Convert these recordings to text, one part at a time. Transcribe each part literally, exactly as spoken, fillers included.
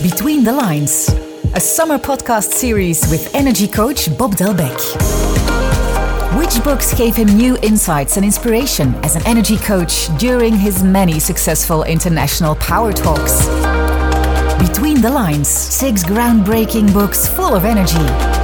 Between the Lines, a summer podcast series with energy coach Bob Delbecq. Which books gave him new insights and inspiration as an energy coach during his many successful international power talks? Between the Lines, six groundbreaking books full of energy.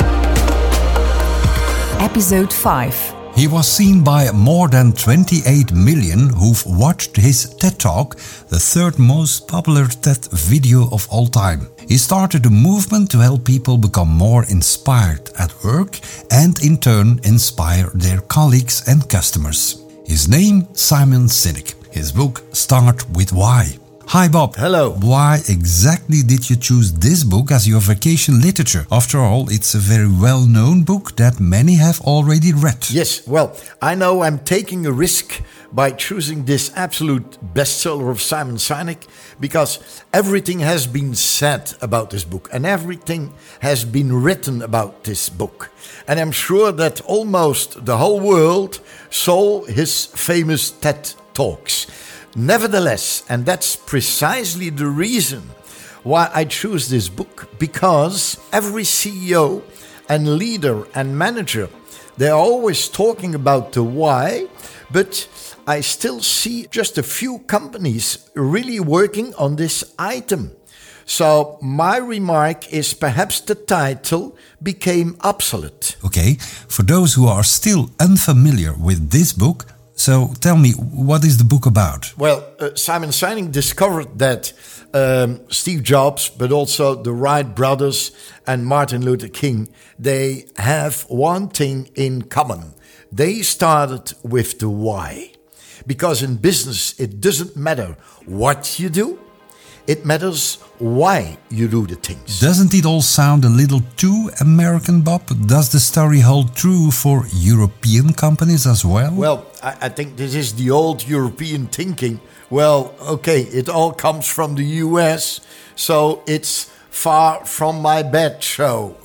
Episode five. He was seen by more than twenty-eight million who've watched his TED Talk, the third most popular TED video of all time. He started a movement to help people become more inspired at work and in turn inspire their colleagues and customers. His name, Simon Sinek. His book, Start With Why. Hi Bob. Hello. Why exactly did you choose this book as your vacation literature? After all, it's a very well-known book that many have already read. Yes, well, I know I'm taking a risk by choosing this absolute bestseller of Simon Sinek because everything has been said about this book and everything has been written about this book. And I'm sure that almost the whole world saw his famous TED Talks. Nevertheless, and that's precisely the reason why I choose this book, because every C E O and leader and manager, they're always talking about the why, but I still see just a few companies really working on this item. So my remark is perhaps the title became obsolete. Okay, for those who are still unfamiliar with this book, so tell me, what is the book about? Well, uh, Simon Sinek discovered that um, Steve Jobs, but also the Wright brothers and Martin Luther King, they have one thing in common. They started with the why. Because in business, it doesn't matter what you do. It matters why you do the things. Doesn't it all sound a little too American, Bob? Does the story hold true for European companies as well? Well, I, I think this is the old European thinking. Well, okay, it all comes from the U S, so it's far from my bed show.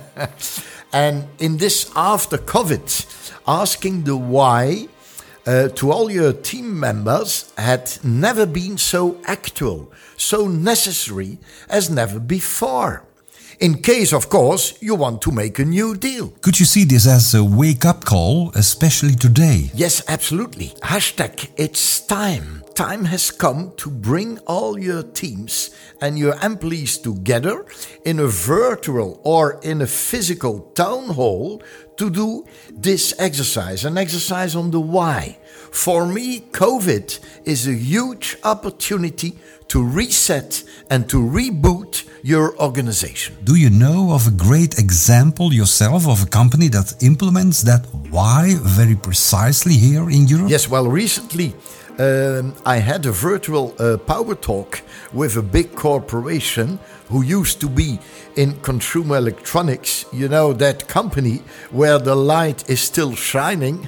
And in this after COVID, asking the why Uh, to all your team members had never been so actual, so necessary as never before. In case, of course, you want to make a new deal. Could you see this as a wake-up call, especially today? Yes, absolutely. Hashtag it's time. Time has come to bring all your teams and your employees together in a virtual or in a physical town hall to do this exercise, an exercise on the why. For me, COVID is a huge opportunity to reset and to reboot your organization. Do you know of a great example yourself of a company that implements that why very precisely here in Europe? Yes, well, recently um, I had a virtual uh, power talk with a big corporation who used to be in consumer electronics, you know, that company where the light is still shining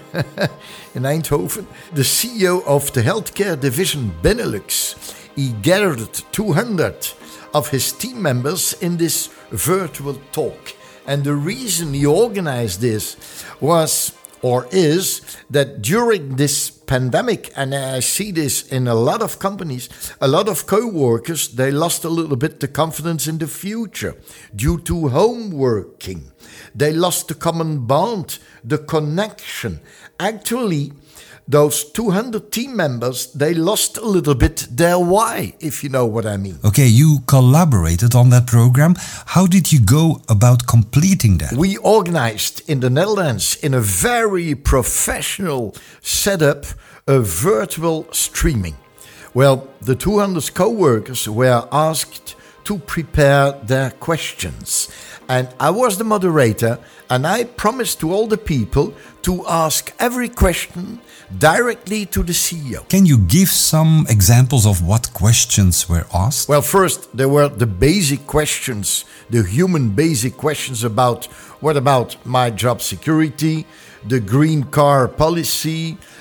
in Eindhoven. The C E O of the healthcare division Benelux, he gathered two hundred of his team members in this virtual talk. And the reason he organized this was or is that during this pandemic, and I see this in a lot of companies, a lot of co-workers, they lost a little bit the confidence in the future due to home working. They lost the common bond, the connection. Actually, those two hundred team members, they lost a little bit their why, if you know what I mean. Okay, you collaborated on that program. How did you go about completing that? We organized in the Netherlands, in a very professional setup, a virtual streaming. Well, the two hundred co-workers were asked to prepare their questions. And I was the moderator, and I promised to all the people to ask every question directly to the C E O. Can you give some examples of what questions were asked? Well, first, there were the basic questions, the human basic questions about what about my job security, the green car policy,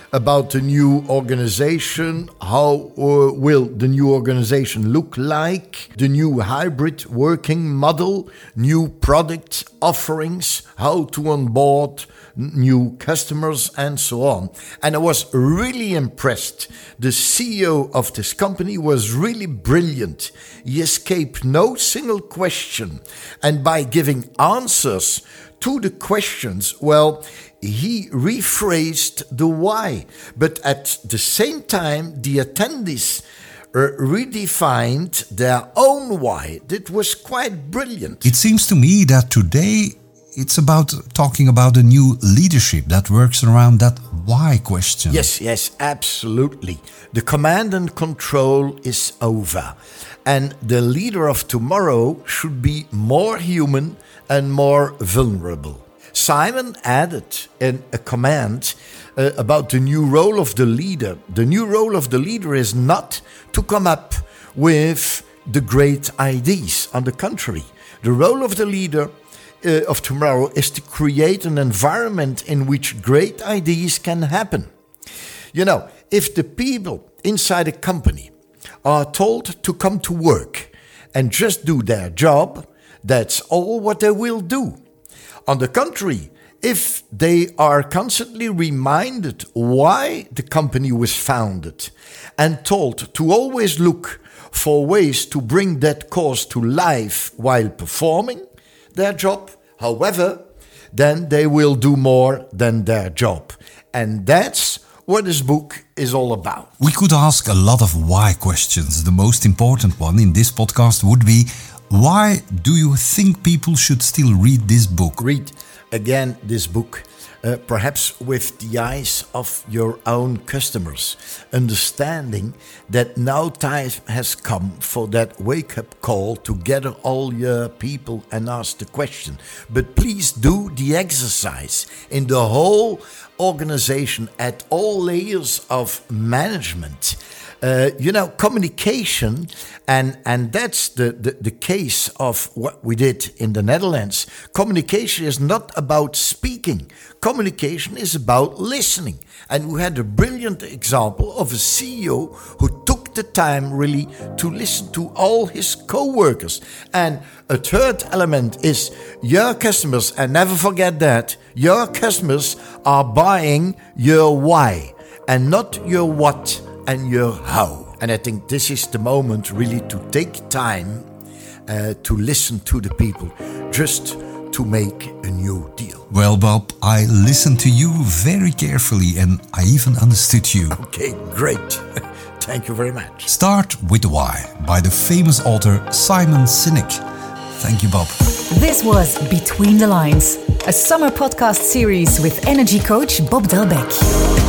about the new organization. How uh, will the new organization look like? The new hybrid working model, new product offerings, how to onboard new customers, and so on. And I was really impressed. The C E O of this company was really brilliant. He escaped no single question. And by giving answers to the questions, well, he rephrased the why. But at the same time, the attendees uh, redefined their own why. That was quite brilliant. It seems to me that today it's about talking about a new leadership that works around that why question. Yes, yes, absolutely. The command and control is over. And the leader of tomorrow should be more human and more vulnerable. Simon added in a command uh, about the new role of the leader. The new role of the leader is not to come up with the great ideas. On the contrary, the role of the leader uh, of tomorrow is to create an environment in which great ideas can happen. You know, if the people inside a company are told to come to work and just do their job, that's all what they will do. On the contrary, if they are constantly reminded why the company was founded and told to always look for ways to bring that cause to life while performing their job, however, then they will do more than their job. And that's what this book is all about. We could ask a lot of why questions. The most important one in this podcast would be, why do you think people should still read this book? Read again this book, uh, perhaps with the eyes of your own customers, understanding that now time has come for that wake-up call to gather all your people and ask the question. But please do the exercise in the whole organization at all layers of management. Uh, you know, communication, and, and that's the, the, the case of what we did in the Netherlands. Communication is not about speaking. Communication is about listening. And we had a brilliant example of a C E O who took the time really to listen to all his co-workers. And a third element is your customers, and never forget that, your customers are buying your why and not your what and your how. And I think this is the moment really to take time uh, to listen to the people, just to make a new deal. Well, Bob, I listened to you very carefully and I even understood you. Okay, great. Thank you very much. Start with the Why by the famous author Simon Sinek. Thank you, Bob. This was Between the Lines, a summer podcast series with energy coach Bob Delbecq.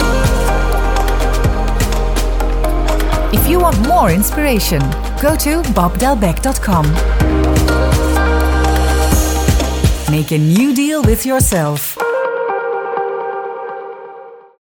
If you want more inspiration, go to bob delbecq dot com. Make a new deal with yourself.